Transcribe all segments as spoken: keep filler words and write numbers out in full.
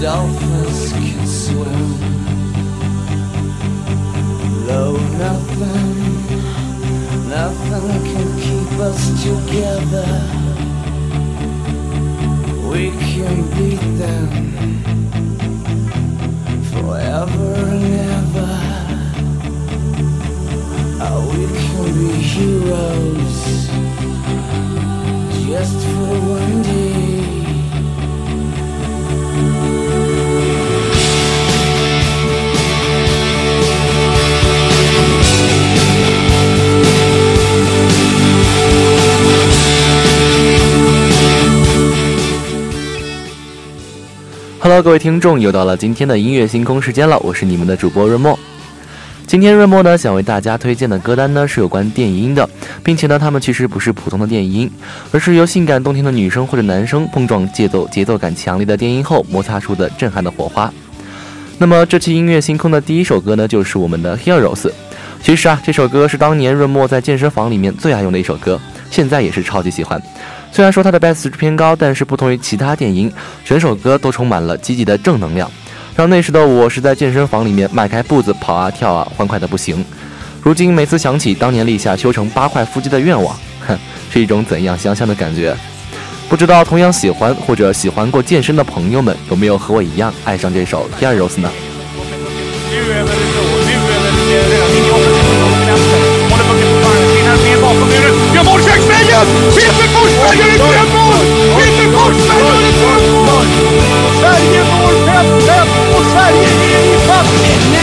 dolphins can swim. Though nothing, nothing can keep us together. We can beat them forever and ever. Oh, we can be heroes just for one day. Hello， 各位听众，又到了今天的音乐星空时间了，我是你们的主播润墨。今天润墨呢想为大家推荐的歌单呢是有关电音的，并且呢他们其实不是普通的电音，而是由性感动听的女生或者男生碰撞节奏节奏感强烈的电音后摩擦出的震撼的火花。那么这期音乐星空的第一首歌呢就是我们的 Heroes。 其实啊这首歌是当年润墨在健身房里面最爱用的一首歌，现在也是超级喜欢。虽然说它的 bass 值偏高，但是不同于其他电音，整首歌都充满了积极的正能量，让那时的我是在健身房里面迈开步子跑啊跳啊，欢快的不行。如今每次想起当年立下修成八块腹肌的愿望，哼，是一种怎样香香的感觉。不知道同样喜欢或者喜欢过健身的朋友们有没有和我一样爱上这首 Heroes 呢？ Peter Forsberg i självmål! Peter Forsberg i självmål! Sverige når fem fem och Sverige är i fast.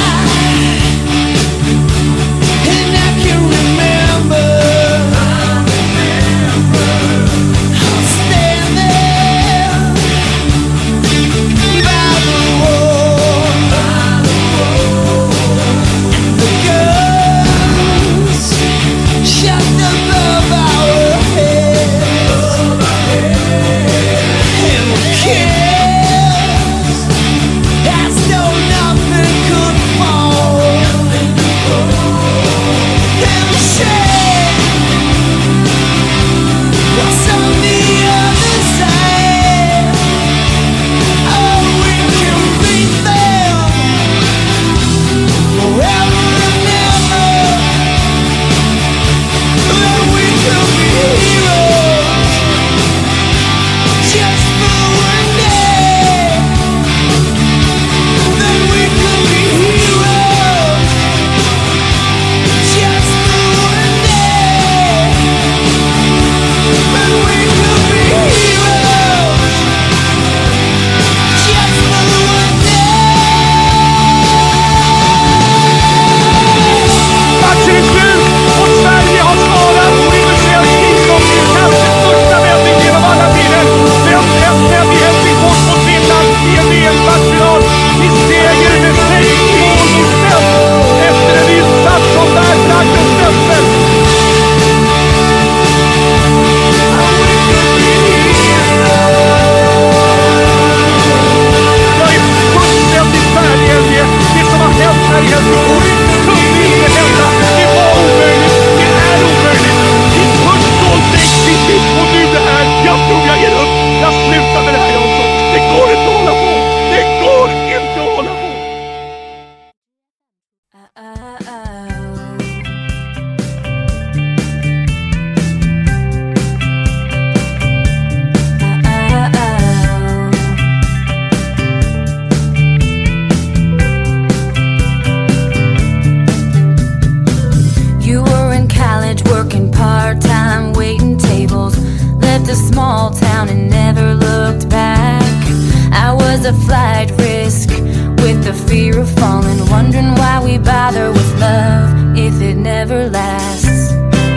a flight risk with the fear of falling, wondering why we bother with love if it never lasts.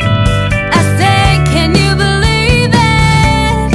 I say, can you believe it?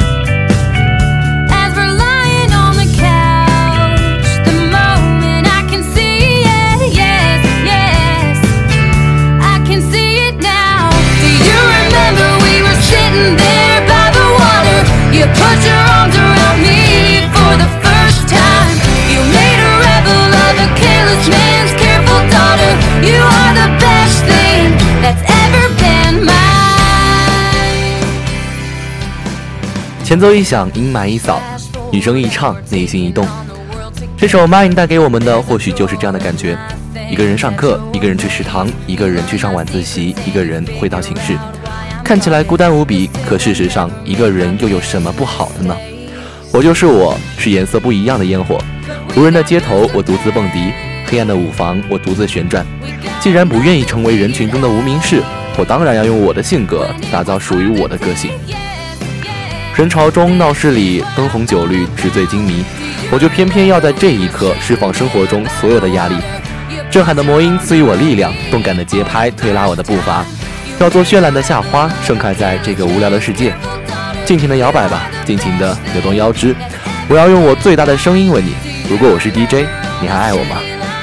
As we're lying on the couch, the moment I can see it, yes, yes, I can see it now. Do you remember we were sitting there by the water? You put your arms around me for the first time. You made a rebel of a careless man's careful daughter. You are the best thing that's ever been mine. 前奏一响，阴霾一扫， 女生一唱，内心一动。这首 Mine 带给我们的或许就是这样的感觉，一个人上课，一个人去食堂，一个人去上晚自习，一个人回到寝室，看起来孤单无比，可事实上一个人又有什么不好的呢？我就是我，是颜色不一样的烟火，无人的街头我独自蹦迪，黑暗的舞房我独自旋转。既然不愿意成为人群中的无名氏，我当然要用我的性格打造属于我的个性。人潮中闹市里灯红酒绿，纸醉金迷，我就偏偏要在这一刻释放生活中所有的压力。震撼的魔音赐予我力量，动感的节拍推拉我的步伐，要做绚烂的夏花盛开在这个无聊的世界。尽情的摇摆吧，尽情的扭动腰肢，我要用我最大的声音问你，如果我是 D J， 你还爱我吗？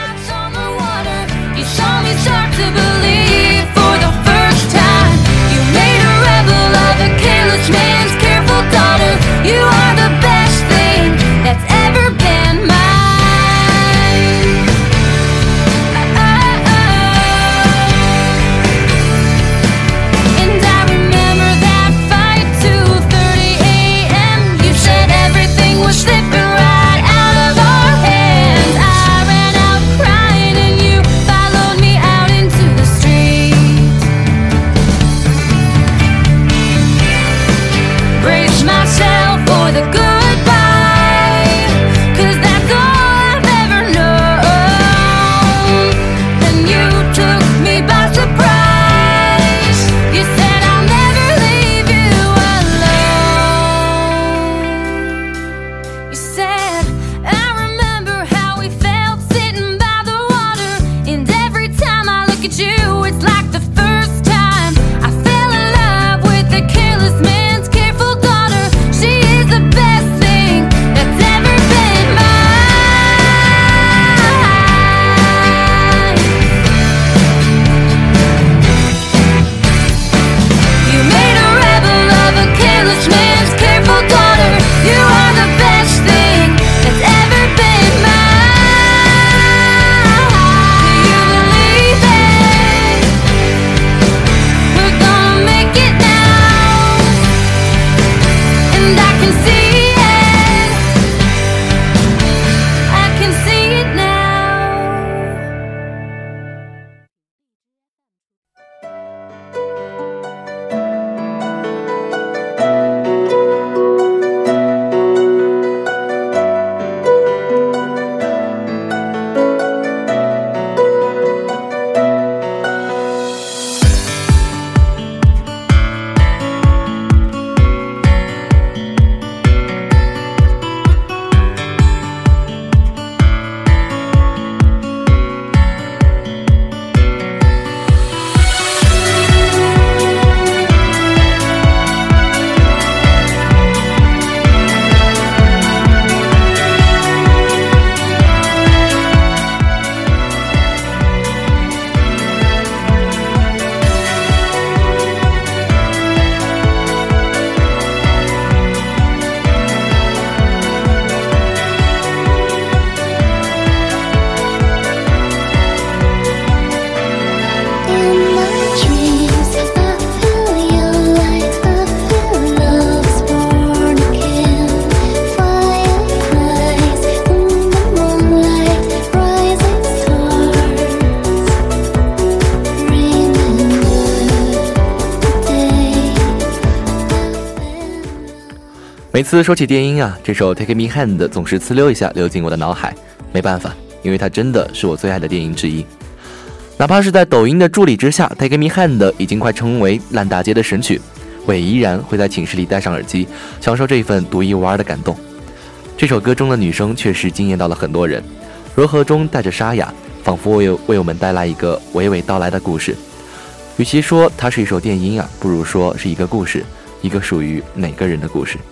每次说起电音啊，这首 Take Me Hand 总是呲溜一下流进我的脑海，没办法，因为它真的是我最爱的电音之一。哪怕是在抖音的助力之下， Take Me Hand 已经快成为烂大街的神曲，我也依然会在寝室里戴上耳机，享受这一份独一无二的感动。这首歌中的女声确实惊艳到了很多人，柔和中带着沙哑，仿佛为为我们带来一个娓娓道来的故事。与其说它是一首电音啊，不如说是一个故事，一个属于每个人的故事。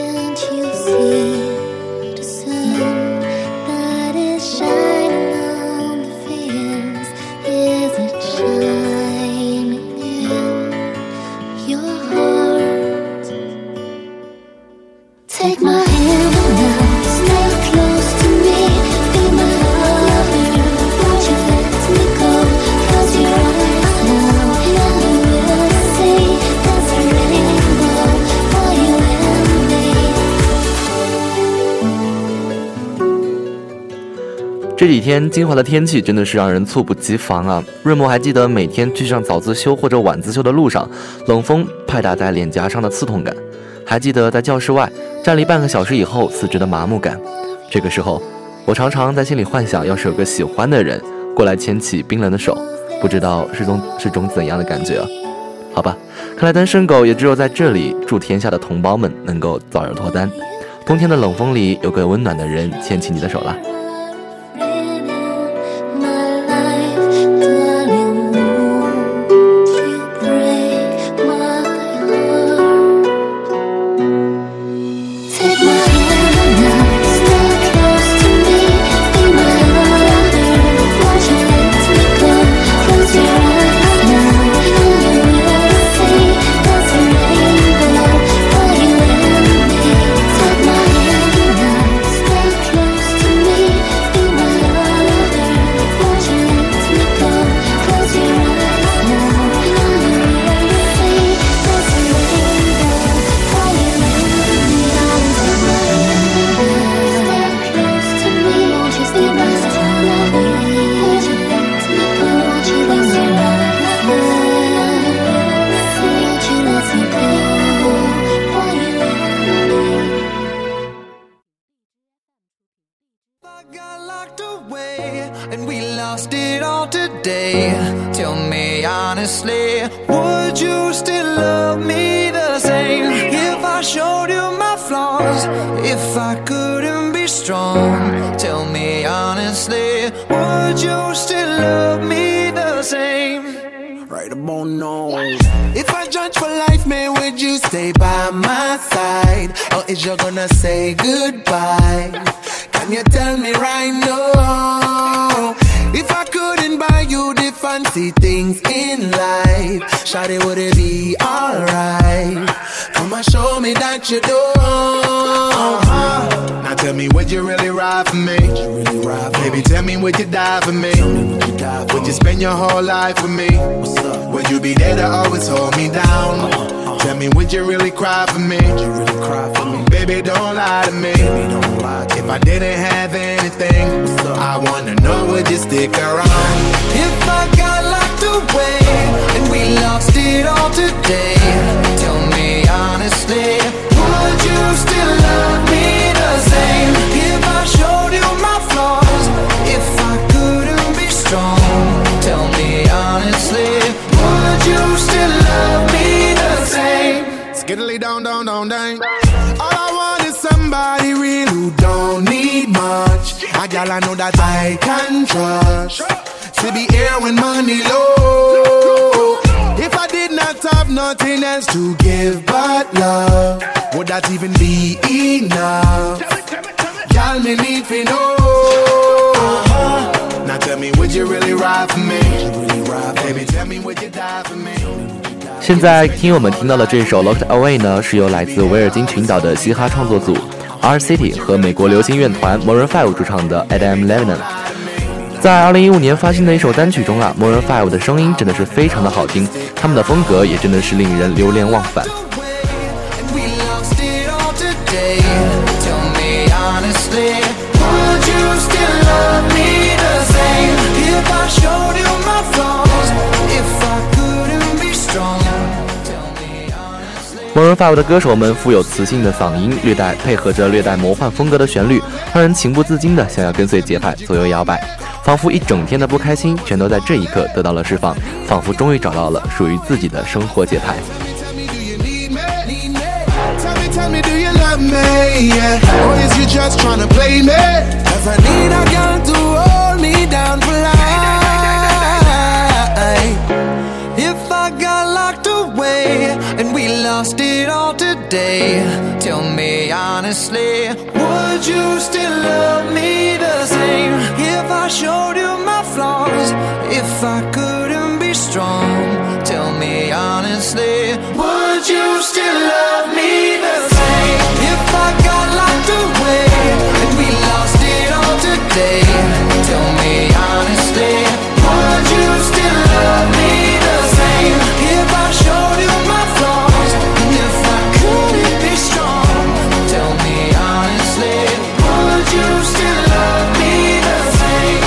See the sun that is shining on 这几天金华的天气真的是让人猝不及防啊！润墨还记得每天去上早自修或者晚自修的路上，冷风拍打在脸颊上的刺痛感，还记得在教室外站立半个小时以后四肢的麻木感。这个时候，我常常在心里幻想，要是有个喜欢的人过来牵起冰冷的手，不知道是种是种怎样的感觉啊？好吧，看来单身狗也只有在这里祝天下的同胞们能够早日脱单，冬天的冷风里有个温暖的人牵起你的手啦。 And we lost it all today. Tell me honestly, would you still love me the same if I showed you my flaws? If I couldn't be strong, tell me honestly, would you still love me the same? Right about now. If I judge for life, man, would you stay by my side? Or is you gonna say goodbye? Can you tell me right now? If I couldn't buy you the fancy things in life, shawty, would it be alright? Come and show me that you do. Uh-huh. Now tell me, would you really ride for me? Really ride for Baby, me? Tell me, would you die for me? me would, you die for would you spend your whole life with me? What's up? Would you be there to always hold me down? Uh-huh. Tell me, would you really cry for me? Would you really cry for me? Baby, don't lie to me. Baby, don't lie to if me. I didn't have anything, I wanna know, would you stick around? If I got locked away and we lost it all today, tell me honestly, would you still love me the same if I showed you my flaws? If I couldn't be strong, tell me honestly, would you still love me the same? Skiddly down, down, down, down. All I want is somebody real who don't need much. A gal I know that I can trust, to be here when money low. If I did not have nothing else to give but love, would that even be enough? Gal, me need to know. Uh-huh. Now tell me, would you really ride for me? Baby, tell me, would you die for me? 现在听友们听到的这首 Locked Away 呢，是由来自维尔京群岛的嘻哈创作组 R City 和美国流行乐团 Maroon 五主唱的 Adam Levine。在二零一五年发行的一首单曲中啊 Maroon 五的声音真的是非常的好听，他们的风格也真的是令人流连忘返。Maroon 五的歌手们富有磁性的嗓音，略带配合着略带魔幻风格的旋律，让人情不自禁的想要跟随节拍左右摇摆，仿佛一整天的不开心全都在这一刻得到了释放，仿佛终于找到了属于自己的生活节拍。 And we lost it all today. Tell me honestly, would you still love me the same if I showed you my flaws? If I couldn't be strong, tell me honestly, would you still love me the same if I got locked away and we lost it all today? Tell me honestly, would you still love me the same if I showed you my flaws? And if I couldn't be strong, tell me honestly, would you still love me the same?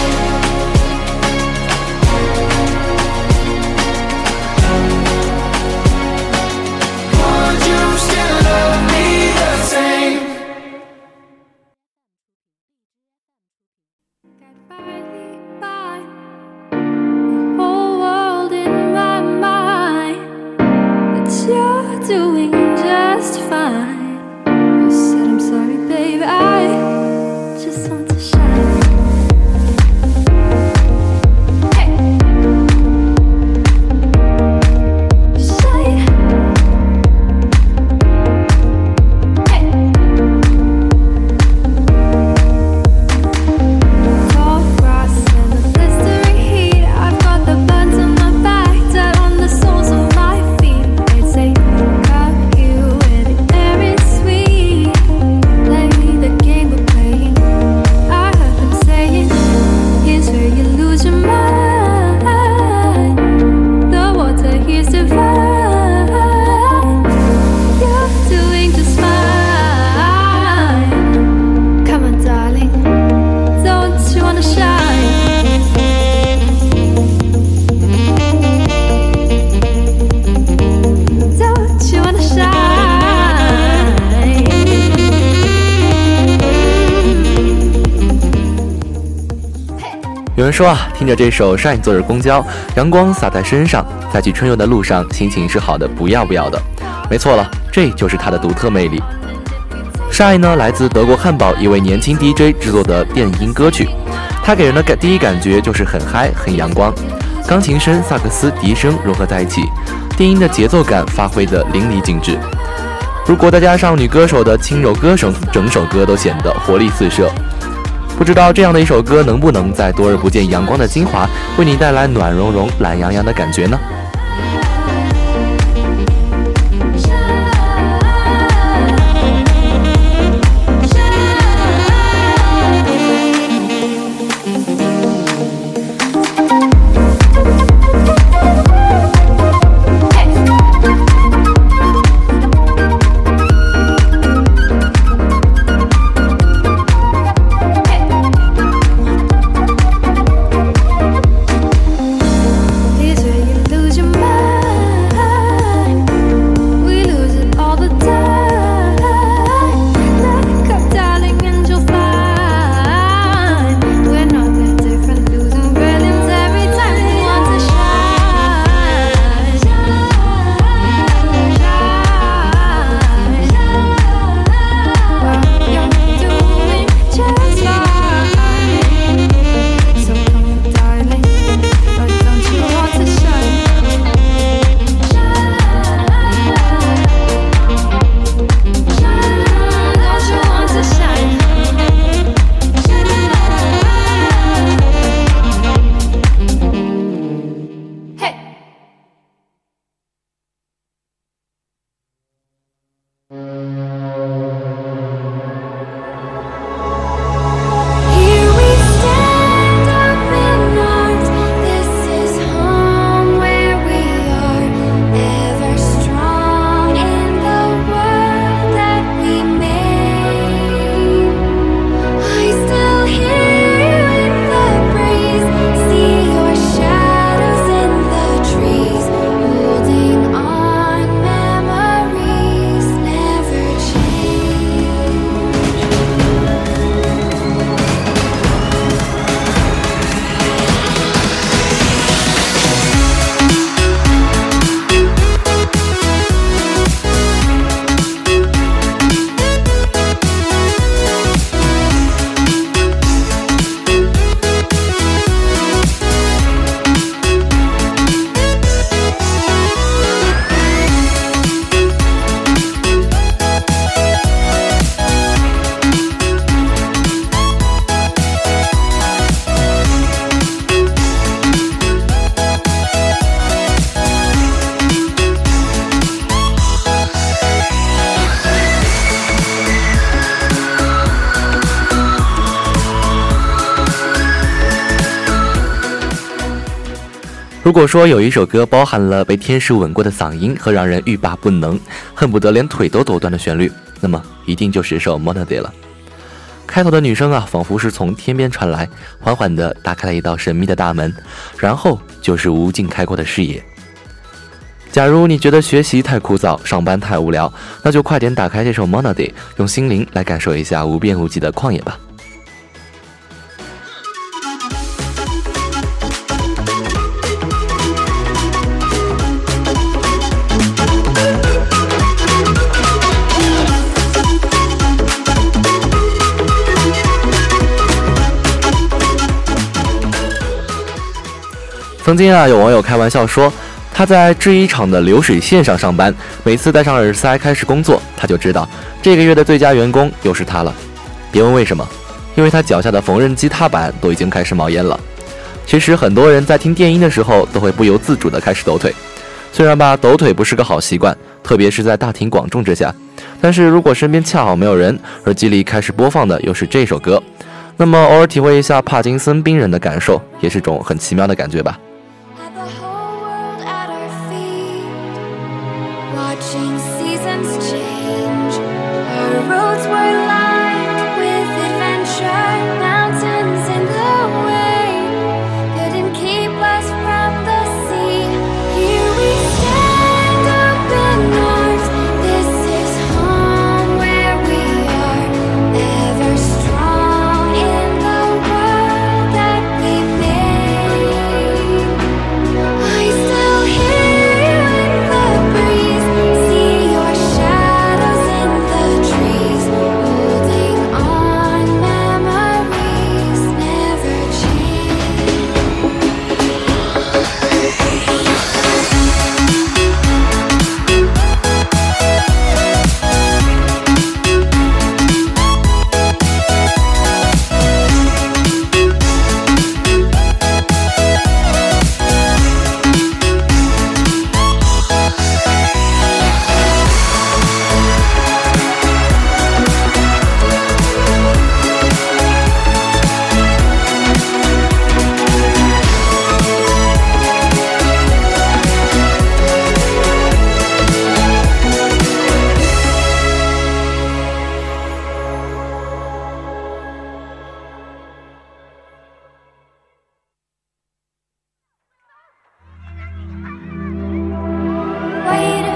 有人说啊，听着这首 Shine 坐着公交，阳光洒在身上，在去春游的路上，心情是好的不要不要的。没错了，这就是它的独特魅力。Shine 呢，来自德国汉堡一位年轻 D J 制作的电音歌曲，它给人的感第一感觉就是很嗨很阳光，钢琴声、萨克斯、笛声融合在一起，电音的节奏感发挥得淋漓尽致。如果再加上女歌手的轻柔歌声，整首歌都显得活力四射。不知道这样的一首歌能不能在多日不见阳光的金华，为你带来暖融融、懒洋洋的感觉呢？如果说有一首歌包含了被天使吻过的嗓音和让人欲罢不能，恨不得连腿都抖断的旋律，那么一定就是首 Monday 了。开头的女声啊，仿佛是从天边传来，缓缓地打开了一道神秘的大门，然后就是无尽开阔的视野。假如你觉得学习太枯燥，上班太无聊，那就快点打开这首 Monday， 用心灵来感受一下无边无际的旷野吧。曾经啊，有网友开玩笑说，他在制衣厂的流水线上上班，每次戴上耳塞开始工作，他就知道这个月的最佳员工又是他了。别问为什么，因为他脚下的缝纫机踏板都已经开始冒烟了。其实很多人在听电音的时候，都会不由自主地开始抖腿。虽然吧，抖腿不是个好习惯，特别是在大庭广众之下，但是如果身边恰好没有人，耳机里开始播放的又是这首歌，那么偶尔体会一下帕金森病人的感受，也是种很奇妙的感觉吧。 Watching seasons change, our roads were lined with adventure, mountains in the way, couldn't keep us from the sea. Here we stand up in north, this is home where we are, ever strong in the world that we made.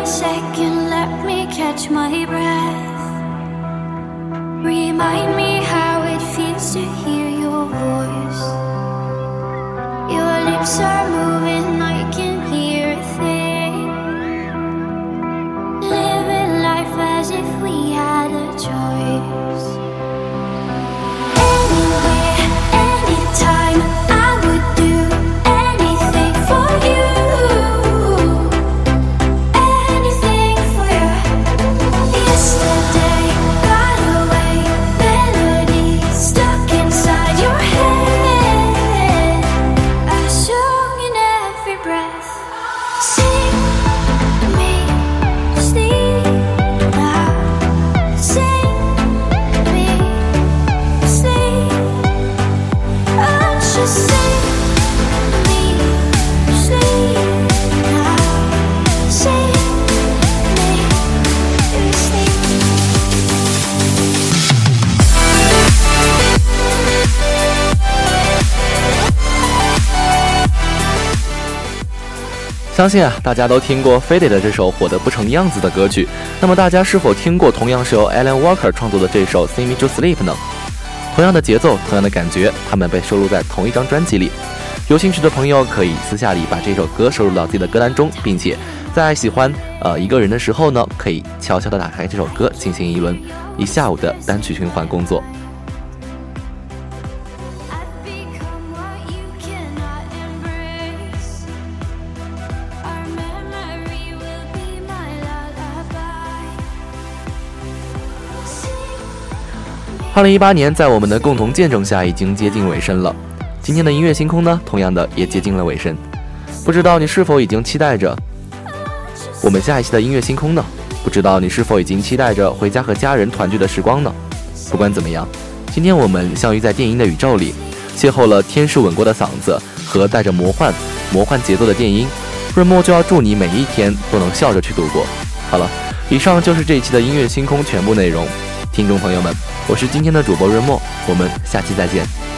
second, let me catch my breath. Remind me how it feels to hear your voice. Your lips are moving, I can hear a thing. Living life as if we had a choice. Anywhere, anytime, I would do anything for you. Anything for you. Yesterday got away, melody stuck inside your head. A song in every breath. Sing me sleep now. Sing me sleep. Oh, just sing me sleep now. Sing me sleep. 相信啊，大家都听过 Faded 的这首火得不成样子的歌曲。那么大家是否听过同样是由 Alan Walker 创作的这首 Sing Me to Sleep 呢？同样的节奏，同样的感觉，他们被收录在同一张专辑里。有兴趣的朋友可以私下里把这首歌收录到自己的歌单中，并且在喜欢呃一个人的时候呢，可以悄悄地打开这首歌，进行一轮一下午的单曲循环工作。 I've become what you cannot embrace. Our memory will be my lullaby. Sing 二零一八年在我们的共同见证下已经接近尾声了，今天的音乐星空呢，同样的也接近了尾声。不知道你是否已经期待着我们下一期的音乐星空呢？不知道你是否已经期待着回家和家人团聚的时光呢？不管怎么样，今天我们相遇在电音的宇宙里，邂逅了天使吻过的嗓子和带着魔幻魔幻节奏的电音。润墨就要祝你每一天都能笑着去度过。好了，以上就是这一期的音乐星空全部内容。听众朋友们，我是今天的主播润墨，我们下期再见。